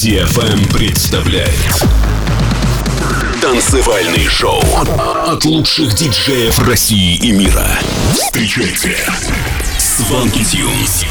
DFM представляет танцевальный шоу от лучших диджеев России и мира. Встречайте Swanky Tunes.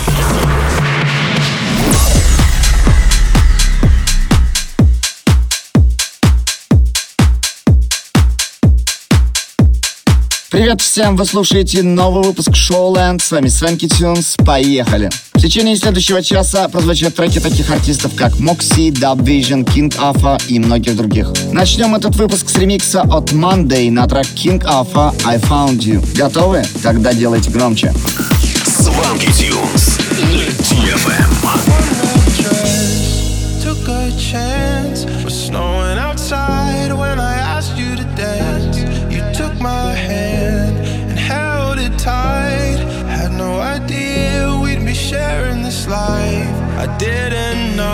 Привет всем, вы слушаете новый выпуск Showland. С вами Swanky Tunes. Поехали! В течение следующего часа прозвучат треки таких артистов, как Moxie, Dubvision, King Alpha и многих других. Начнем этот выпуск с ремикса от Monday на трек King Alpha I Found You. Готовы? Тогда делайте громче. Swanky Tunes на DFM. Took a chance. Was snowing outside when I asked you to dance. You took my hand and held it tight. Had no idea we'd be sharing this life. I didn't know.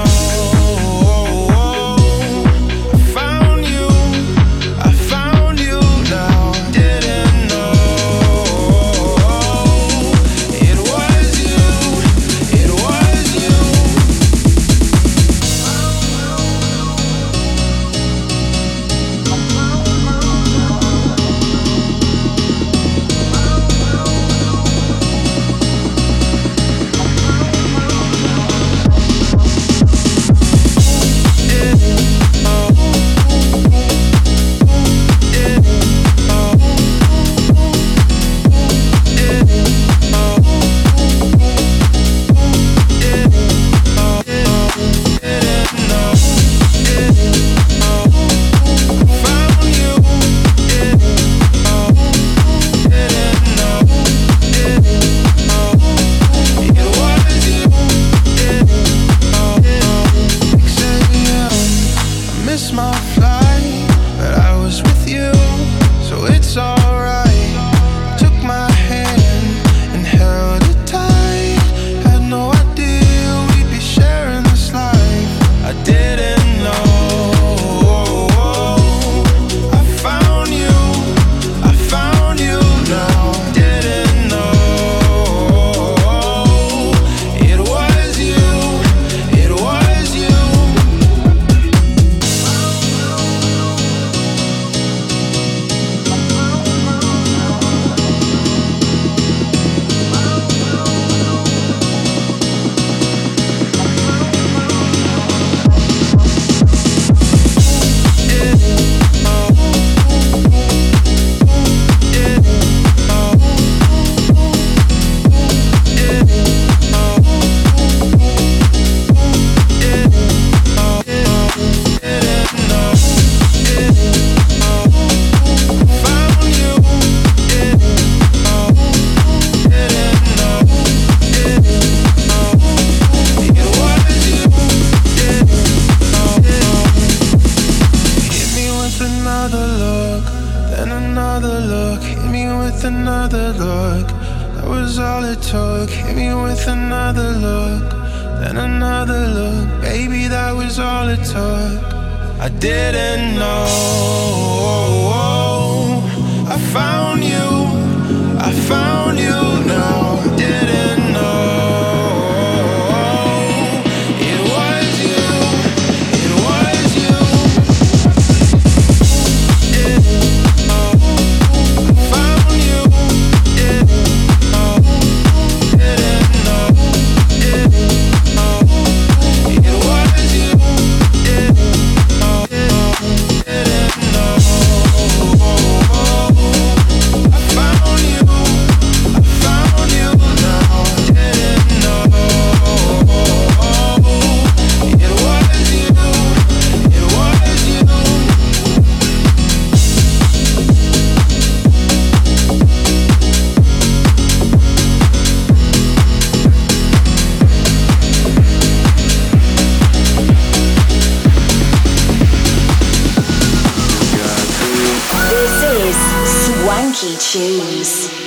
Choose.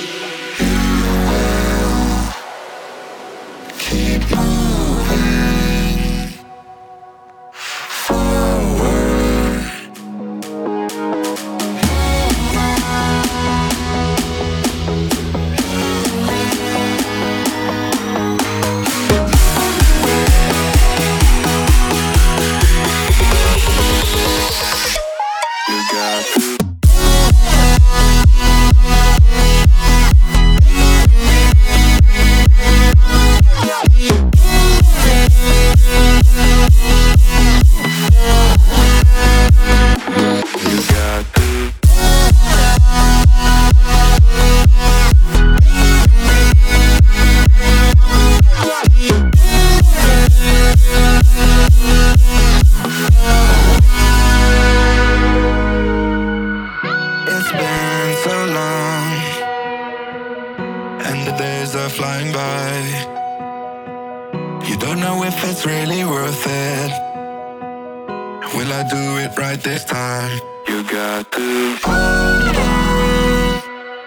You don't know if it's really worth it. Will I do it right this time? You got to hold on.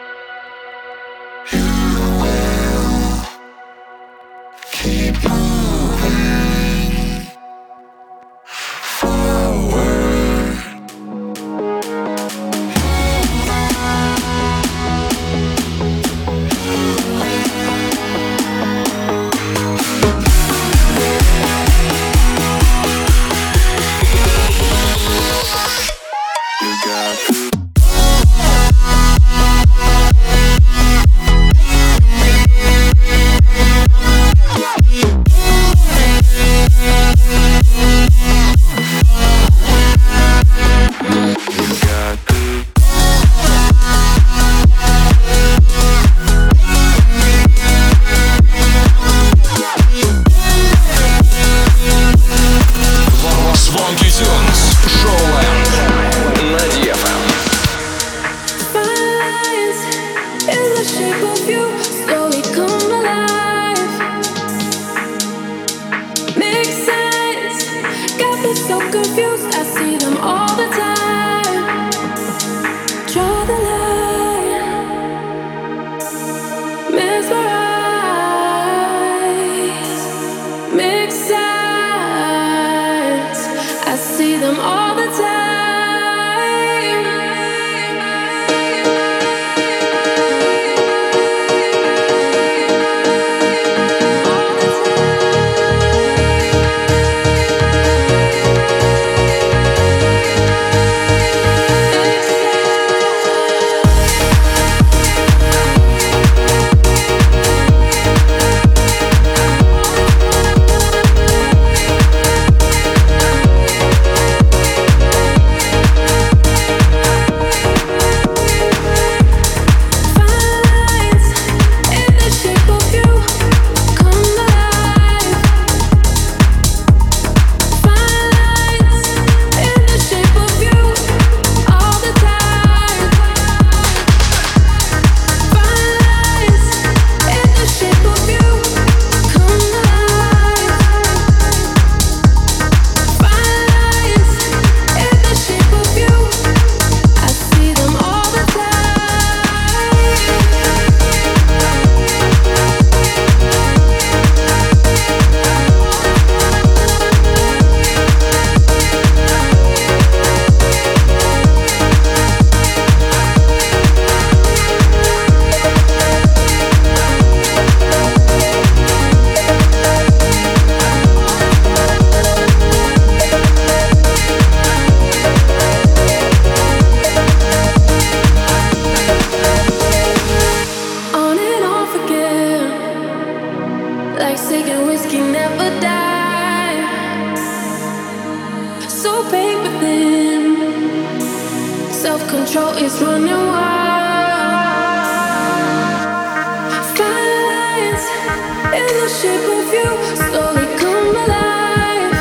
You will keep moving forward. You got to Swanky Tunes, Showland на DFM. Fireflies in the shape of you slowly come alive. Make sense, got me so confused. I see them all the time. Draw the line, mesmerize. Make sense, I see them all the time. Like taking whiskey never die. So big within, self-control is running wild. Firelines in the shape of you slowly come alive.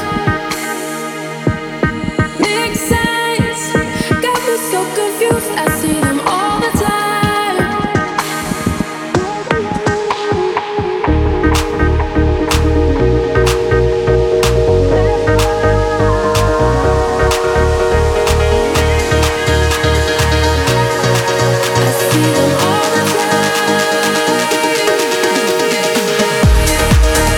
Make sense, got me so confused. I see them all the time. I see them all the time.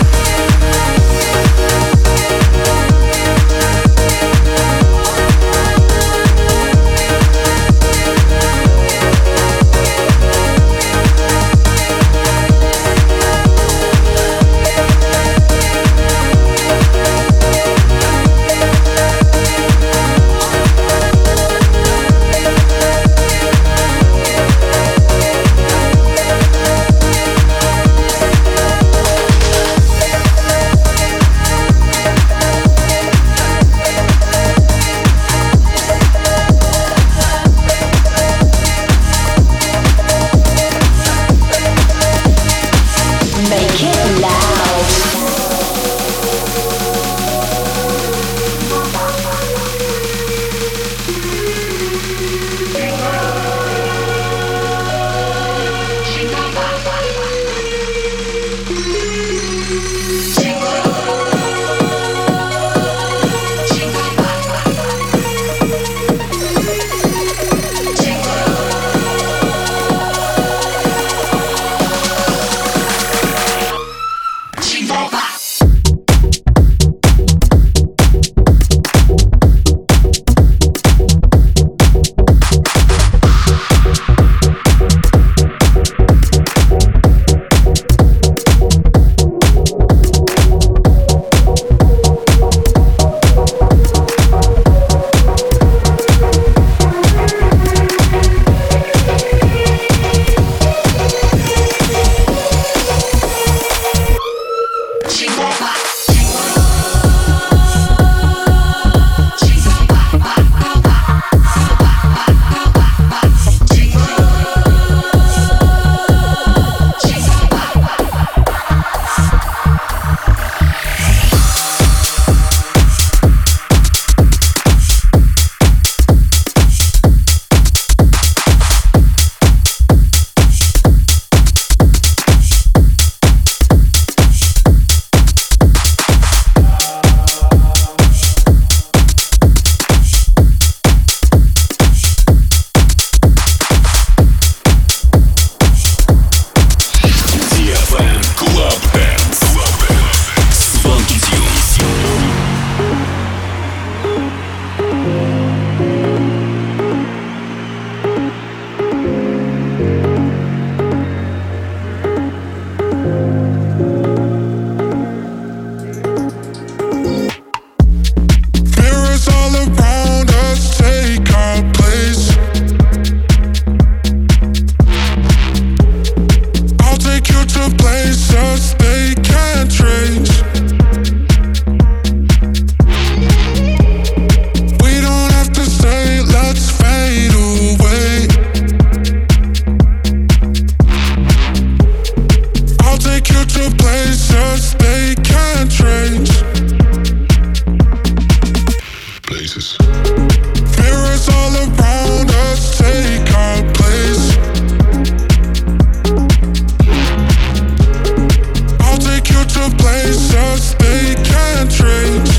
places they can't trace.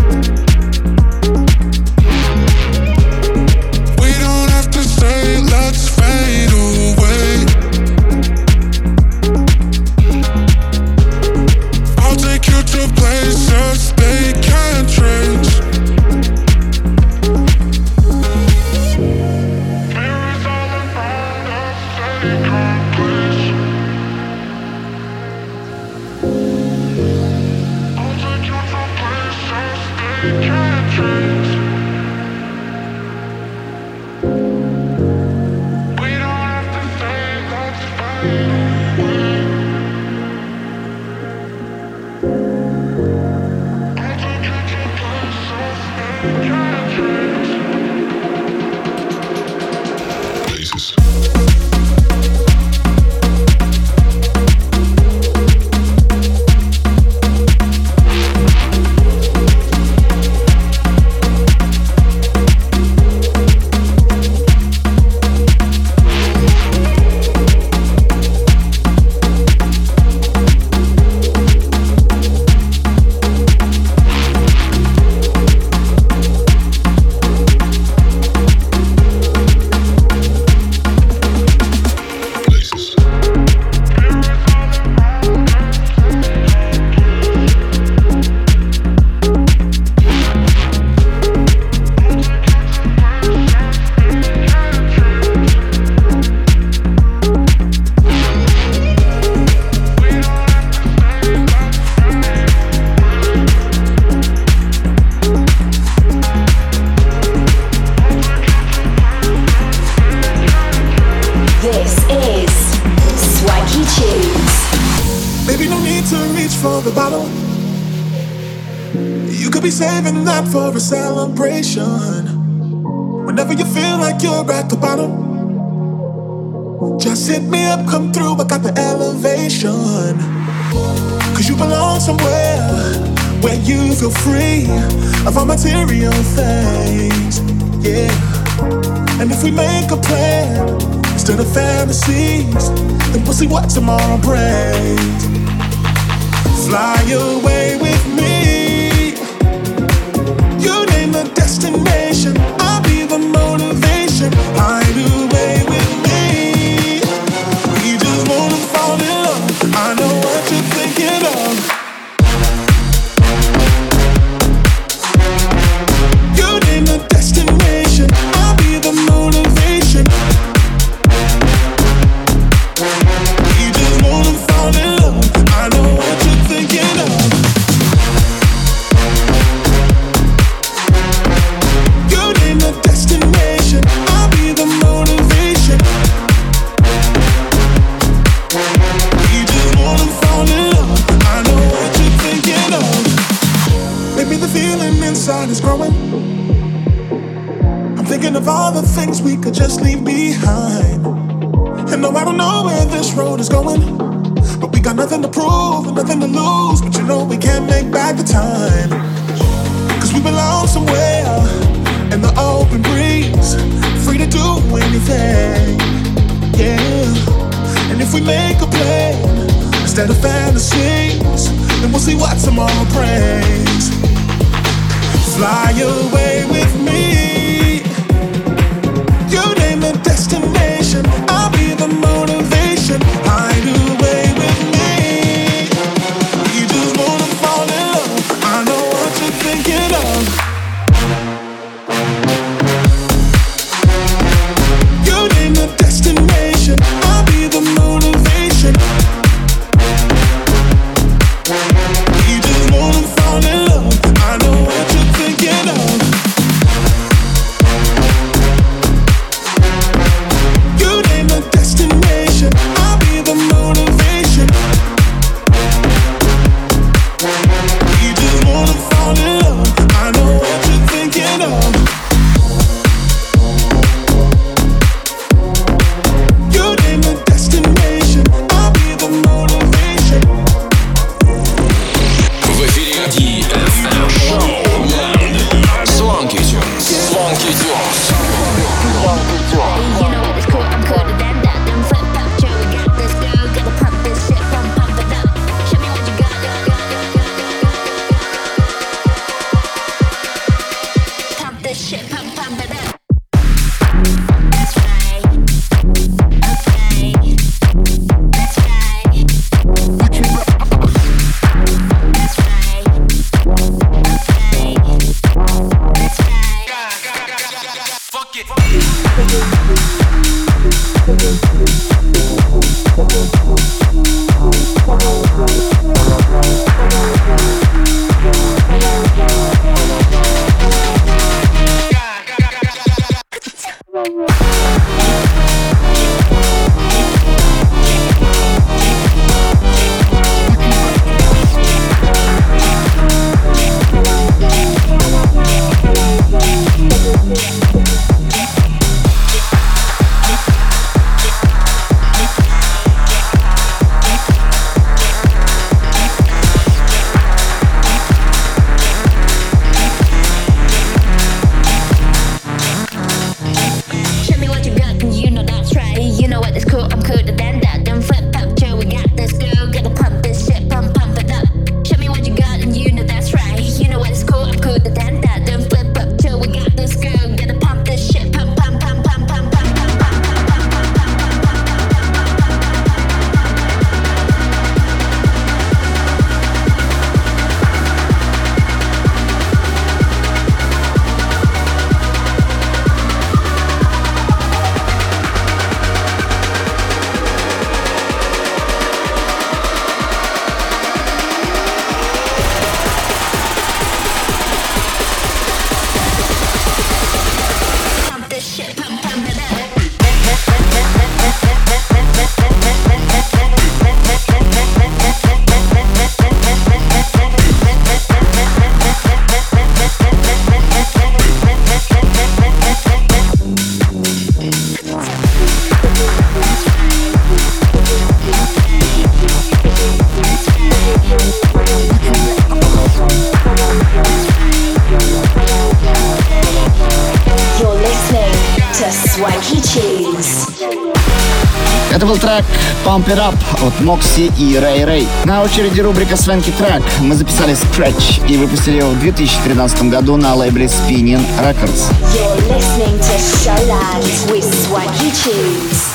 We don't have to say let's fade away. I'll take you to places they can't trace. Saving that for a celebration. Whenever you feel like you're at the bottom, just hit me up, come through, I got the elevation. Cause you belong somewhere where you feel free of all material things, yeah. And if we make a plan instead of fantasies, then we'll see what tomorrow brings. Fly away with me. You name the destination, I'll be the motivation. Hide away with me. We just wanna fall in love. I know what you're thinking of. You name the destination, I'll be the motivation. We just wanna fall in love. I know what you're thinking of. Inside is growing. I'm thinking of all the things we could just leave behind. And no, I don't know where this road is going, but we got nothing to prove and nothing to lose. But you know we can't make back the time, cause we belong somewhere in the open breeze, free to do anything, yeah. And if we make a plan instead of fantasies, then we'll see what tomorrow brings. Fly away with me. You name the destination, I'll be the motivation. Hide away with me. We just wanna fall in love. I know what you're thinking of. You name the destination, I'll be the motivation. We just wanna fall in love. I know what you're thinking of. You name the destination, I'll be the motivation. We just wanna fall in love. I know what you're thinking of. You name the destination, I'll be the motivation. В эфире DFM Showland. Swanky Tunes. Swanky Tunes. You know what is cool, I'm cooler than that. Them flip up, Joe, we got this, girl, got the pump this shit, pump it up. Show me what you got. Это был трек Pump It Up от Moxie и Ray Ray. На очереди рубрика Swanky Track. Мы записали Scratch и выпустили его в 2013 году на лейбле Spinning Records. You're listening to Showland with Swanky Tunes.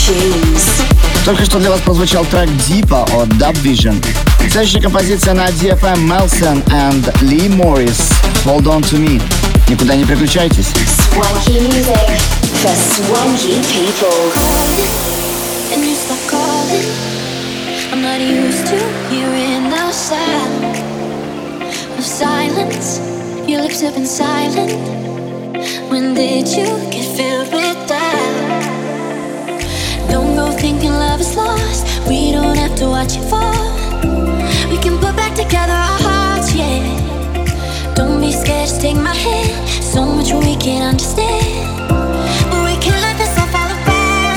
Tunes. Только что для вас прозвучал трек Deepa от Dub Vision. Следующая композиция на DFM Melson and Lee Morris. Hold on to me. Никуда не переключайтесь. Swanky music for swanky people. And you stop calling. I'm not used to hearing the sound of silence. Your lips have been silent. When did you get filled with doubt? Don't go thinking love is lost. We don't have to watch it fall. We can put back together our hearts, yeah. Don't be scared, just take my hand. So much we can't understand, but we can't let this all fall apart.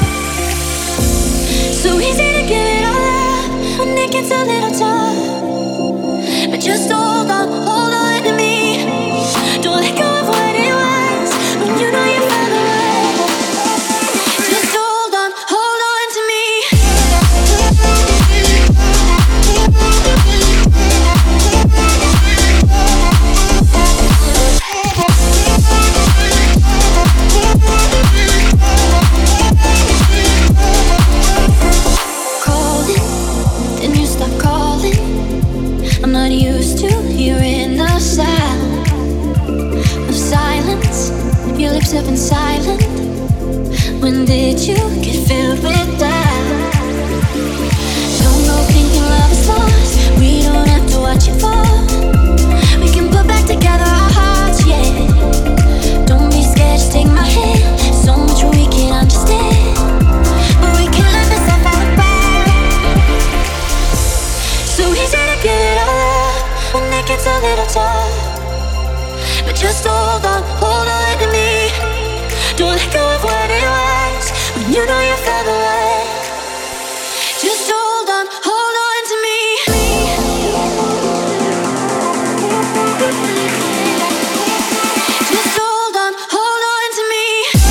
So easy to give it all up when it gets a little tough. But just hold on to me. Don't let go of what it was when you know you found the way. Just hold on to me. Calling, then you stop calling. I'm not used to hearing the sound of silence. Your lips have been silent. When did you get filled with doubt? Don't go thinking love is lost. We don't have to watch it fall. We can put back together our hearts, yeah. Don't be scared, just take my hand. So much we can't understand, but we can't let this all fall apart. So easy to give it all up when it gets a little tough. But just hold on to me. Don't let go of what it was when you know you fell away. Just hold on to me. Just hold on to me.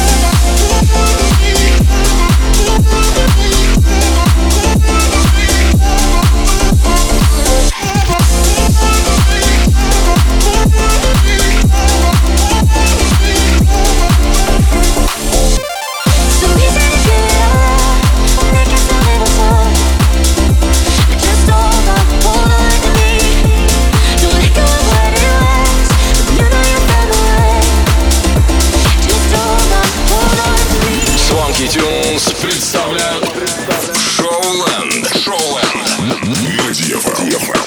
So easy to give it all up when it gets a little tough. But just hold on to me. Don't let go of what it was when you know you fell away. Just hold on to me. Swanky Tunes представляют Showland. На DFM.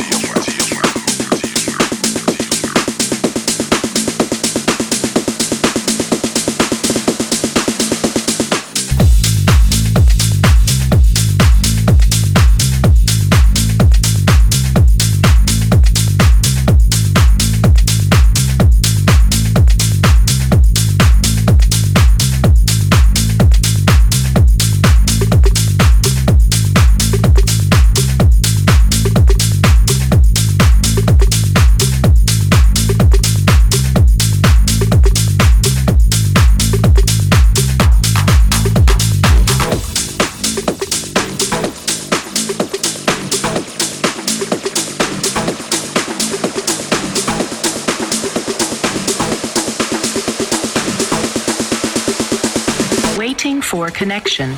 Waiting for connection.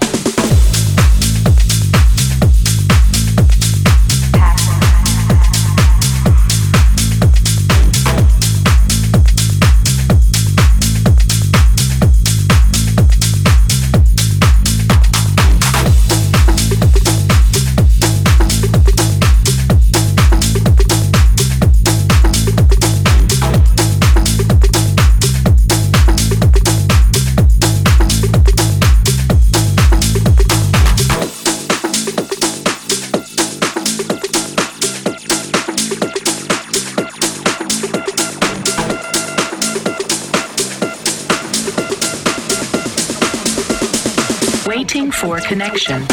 Waiting for connection.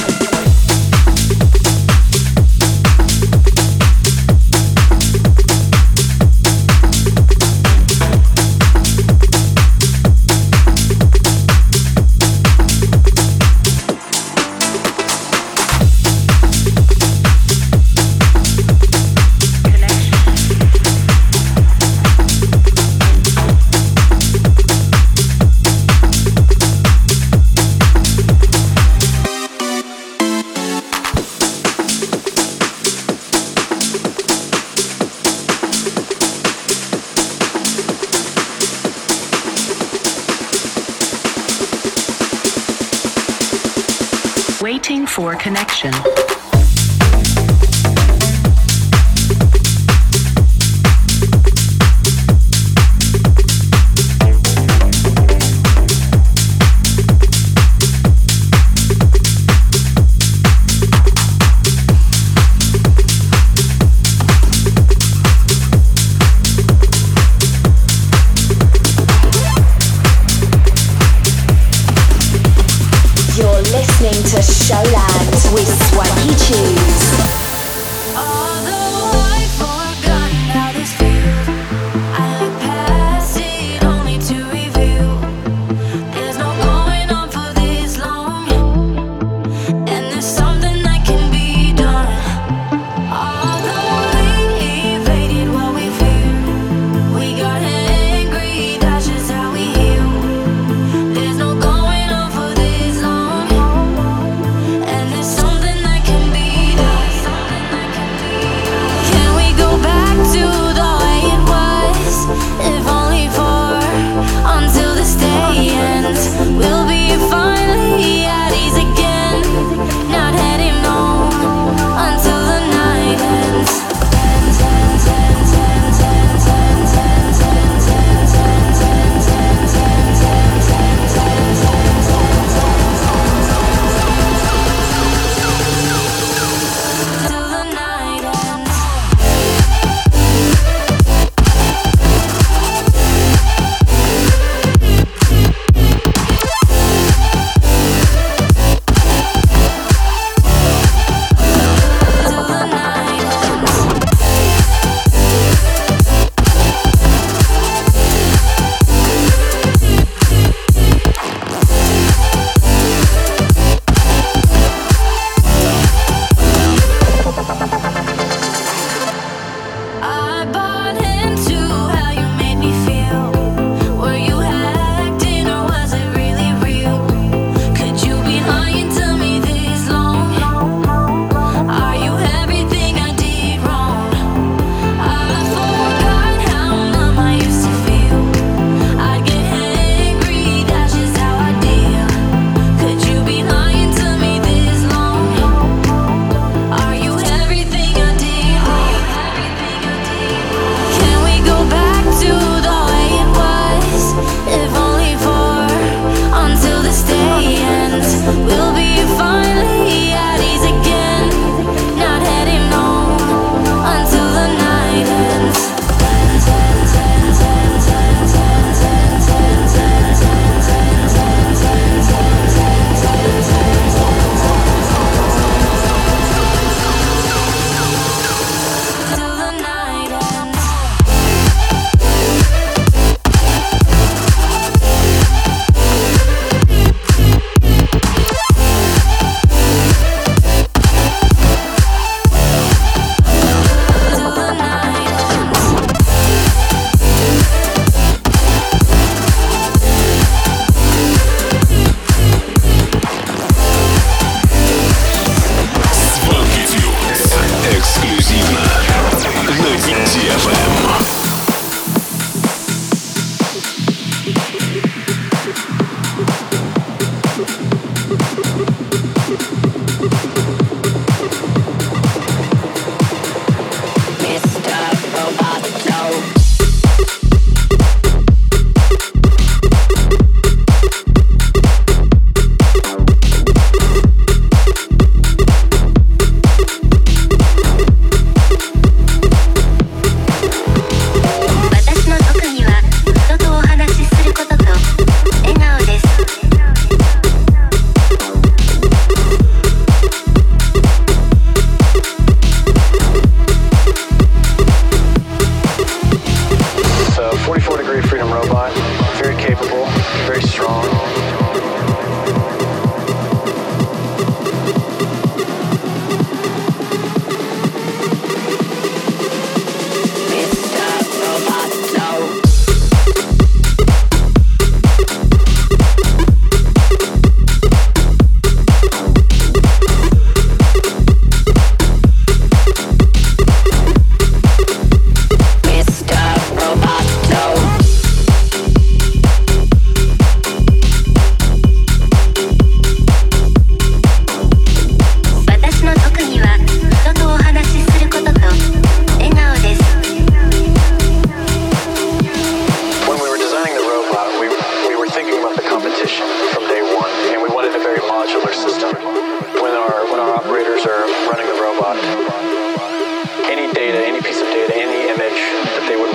Waiting for connection. Listening to Showland with Swanky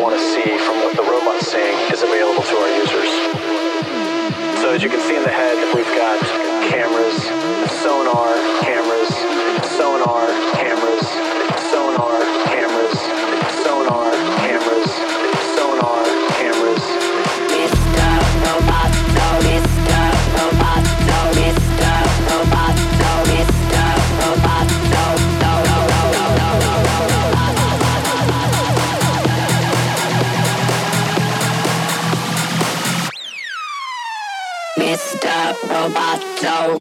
want to see from what the robots sing is available to our users. So as you can see in the head, we've got cameras, sonar, cameras, sonar, cameras, sonar, cameras, sonar, cameras, sonar, cameras. Mr. Roboto, Mr. Roboto, Mr. Roboto, Mr. Roboto, Mr. Roboto.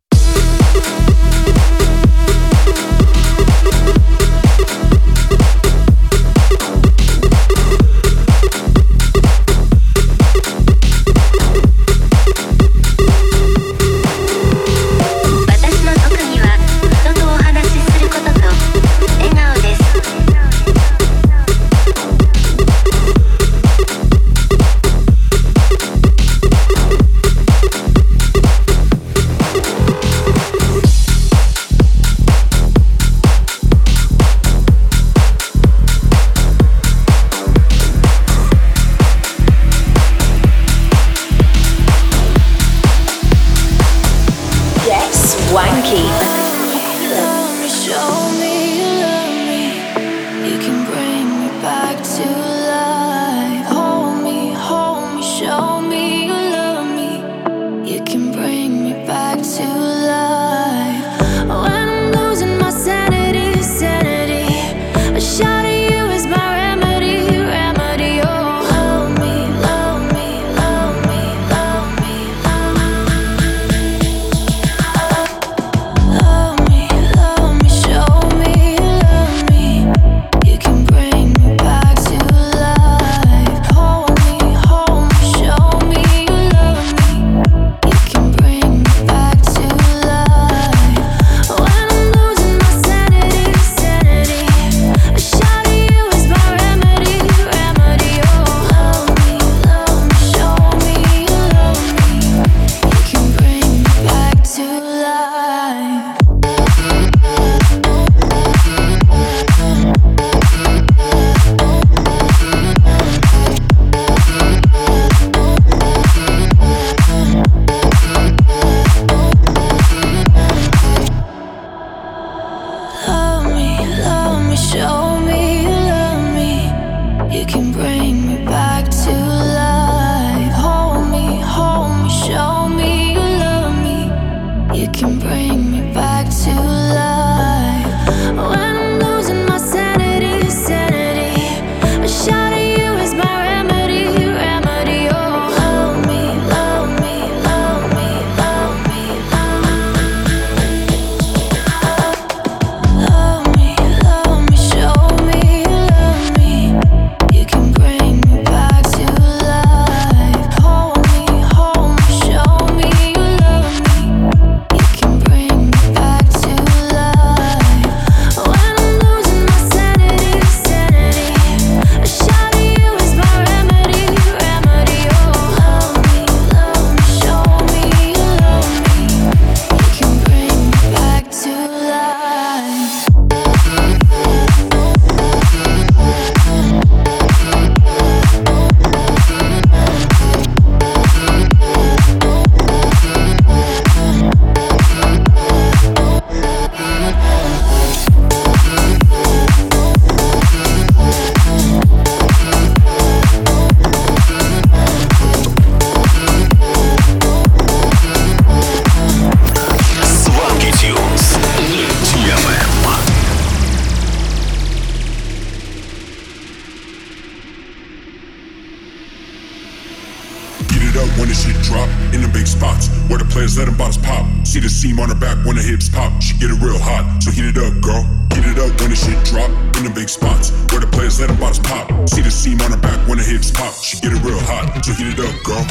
when the shit drop in the big spots where the players let them bottles pop. See the seam on her back when the hips pop. She get it real hot, so heat it up, girl. Heat it up when the shit drop in the big spots where the players let them bottles pop. See the seam on her back when the hips pop. She get it real hot, so heat it up, girl.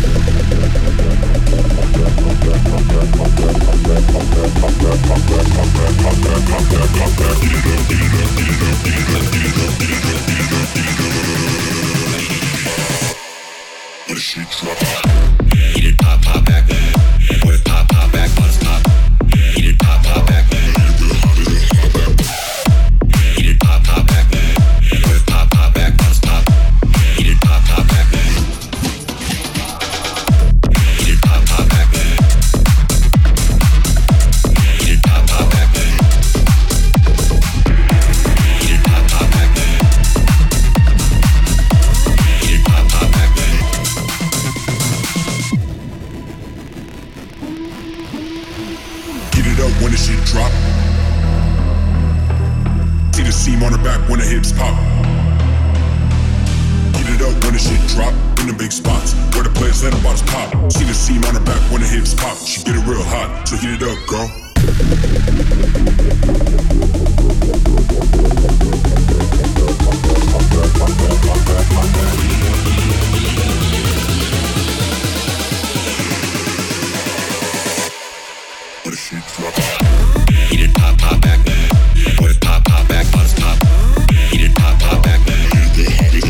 When the shit drop, eat it, pop, pop back. When it pop, pop back, bottles pop. Eat it, pop, pop back. Eat it, pop, pop back. When it pop, pop back, bottles pop. drop in the big spots where the players let them bottles pop. See the seam on her back when the hips pop. She get it real hot, so heat it up, girl. Where the shit drop. Heat it, pop, pop back. Put it, pop, pop back, bottles pop. Heat it, pop, pop back. Heat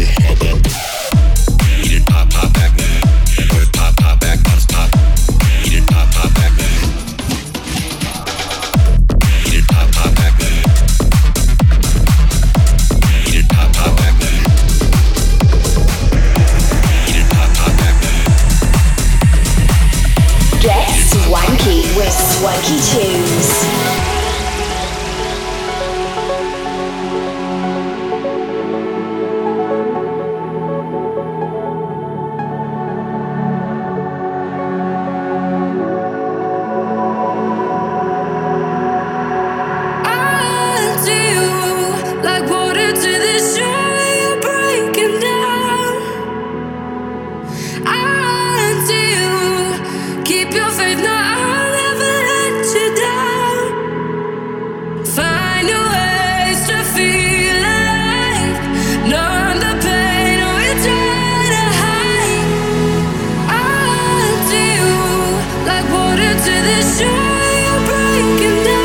it, pop, pop back. Put it, pop, pop back, bottles pop. Heat it, pop, pop back. Heat it, pop, pop back. Heat it, pop, pop back. Heat it, pop, pop back. Get swanky with Swanky Tunes. Keep your faith, no, I'll never let you down. Find your ways to feel alive. Numb the pain we try to hide. I'll you like water to the shore. You're breaking down.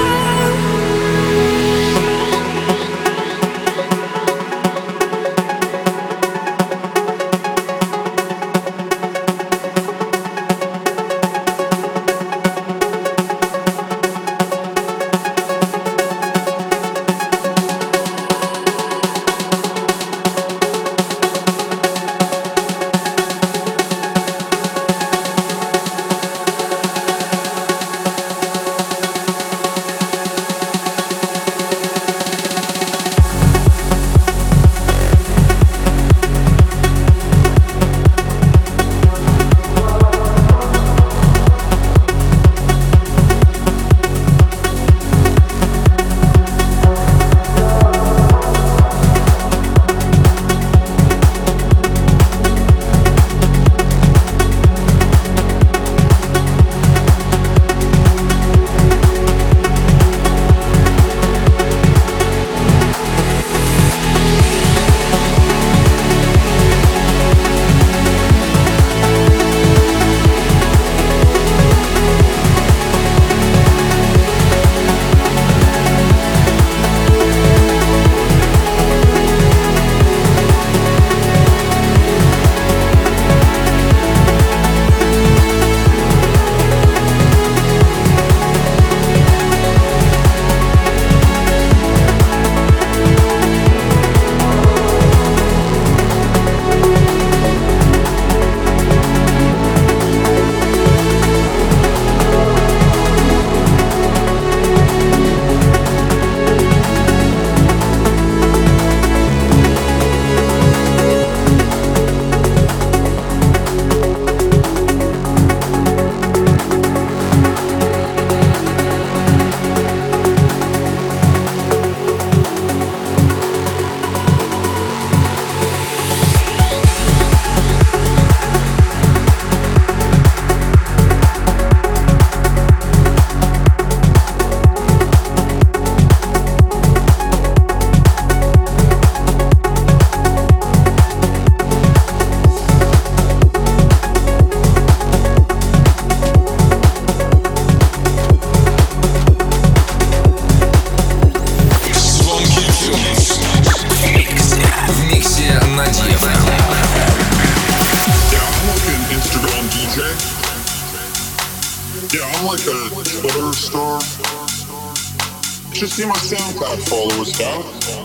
Should see my SoundCloud followers, dog.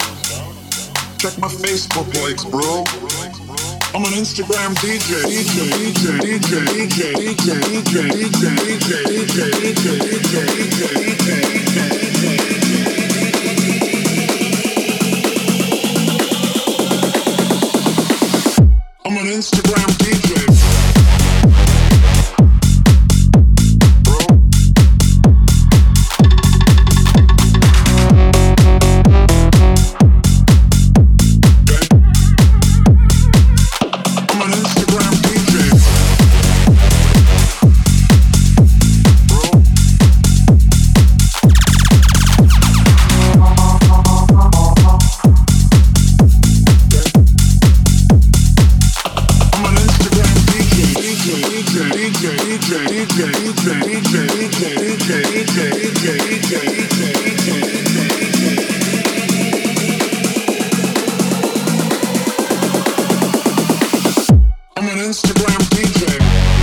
Check my Facebook likes, bro. I'm an Instagram DJ. I'm an Instagram DJ. I'm an I'm an Instagram DJ.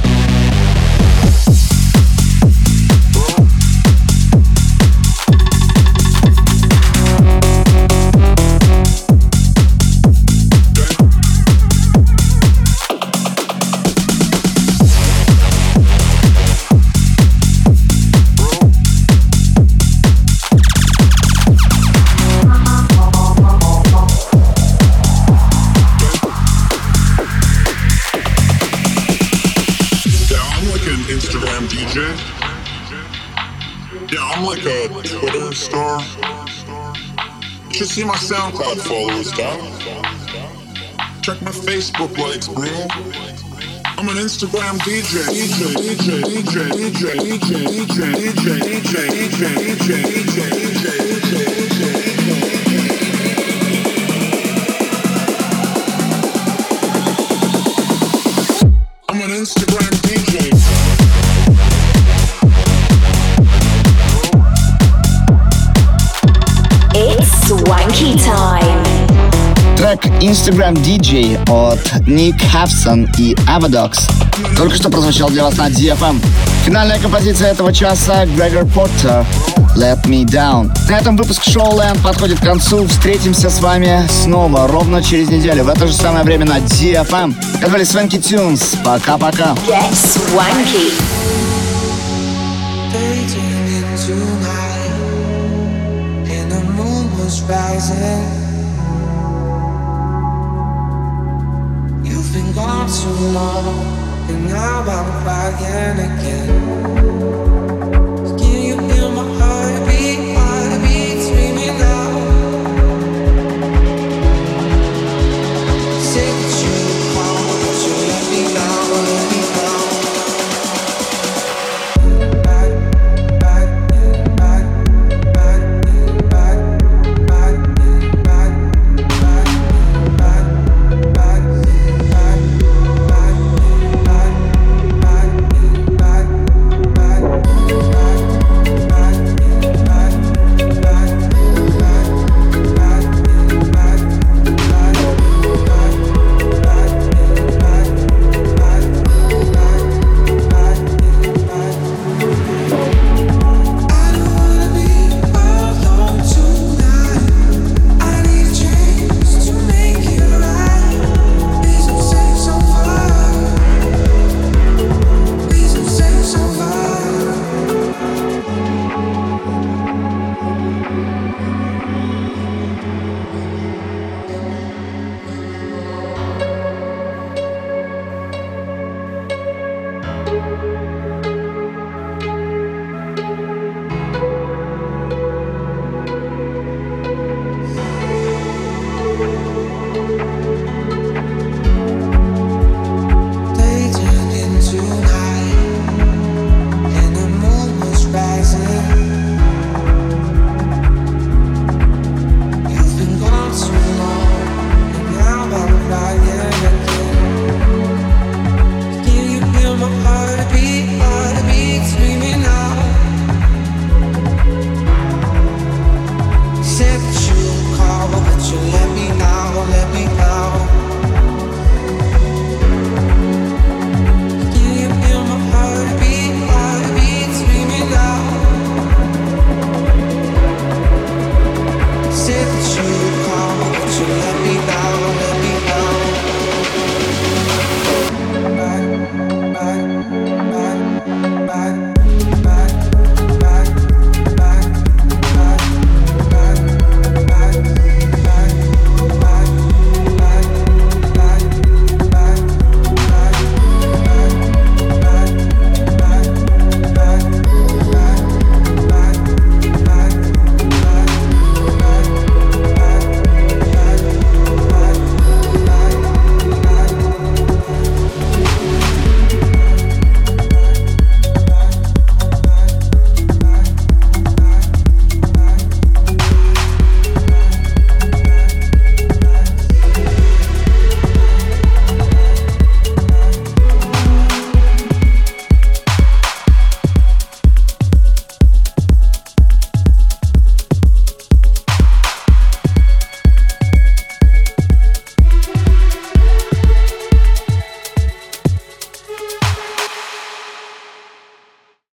Yeah, I'm like a Twitter star. You should see my SoundCloud followers, dog. Check my Facebook likes, bro. I'm an Instagram DJ. I'm an Instagram DJ. Swanky Time. Трек Instagram DJ от Nick Hafson и Avadox только что прозвучал для вас на DFM. Финальная композиция этого часа Грегор Портер Let Me Down. На этом выпуск Showland подходит к концу. Встретимся с вами снова ровно через неделю в это же самое время на DFM. Это были Swanky Tunes. Пока-пока. Get Swanky. Rising. You've been gone too long, and now I'm crying again.